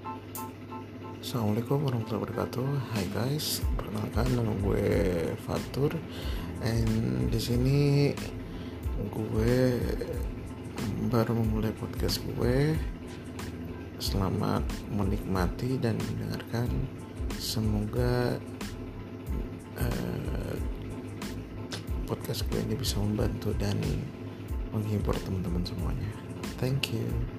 Assalamualaikum warahmatullahi wabarakatuh. Hai guys, perkenalkan nama gue Fatur. And di sini gue baru memulai podcast gue. Selamat menikmati dan mendengarkan. Semoga podcast gue ini bisa membantu dan menghibur teman-teman semuanya. Thank you.